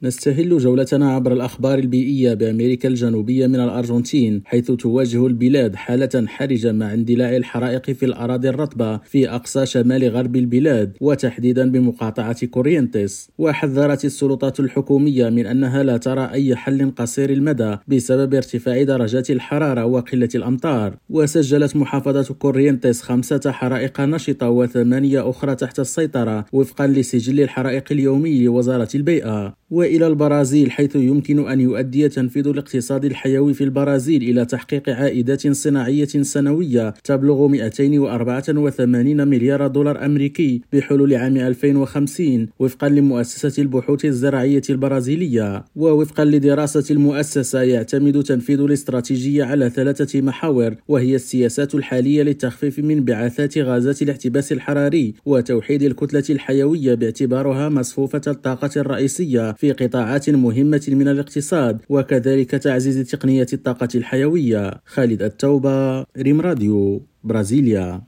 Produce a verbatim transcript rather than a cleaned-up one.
نستهل جولتنا عبر الأخبار البيئية بأمريكا الجنوبية من الأرجنتين، حيث تواجه البلاد حالة حرجة مع اندلاع الحرائق في الأراضي الرطبة في أقصى شمال غرب البلاد، وتحديدا بمقاطعة كورينتيس. وحذرت السلطات الحكومية من أنها لا ترى أي حل قصير المدى بسبب ارتفاع درجات الحرارة وقلة الأمطار. وسجلت محافظة كورينتيس خمسة حرائق نشطة وثمانية أخرى تحت السيطرة وفقا لسجل الحرائق اليومي لوزارة البيئة. وإلى البرازيل، حيث يمكن أن يؤدي تنفيذ الاقتصاد الحيوي في البرازيل إلى تحقيق عائدات صناعية سنوية تبلغ مئتين وأربعة وثمانين مليار دولار أمريكي بحلول عام ألفين وخمسين وفقا لمؤسسة البحوث الزراعية البرازيلية. ووفقا لدراسة المؤسسة، يعتمد تنفيذ الاستراتيجية على ثلاثة محاور، وهي السياسات الحالية للتخفيف من انبعاثات غازات الاحتباس الحراري وتوحيد الكتلة الحيوية باعتبارها مصفوفة الطاقة الرئيسية في قطاعات مهمة من الاقتصاد، وكذلك تعزيز تقنية الطاقة الحيوية. خالد التوبة، ريم راديو، برازيليا.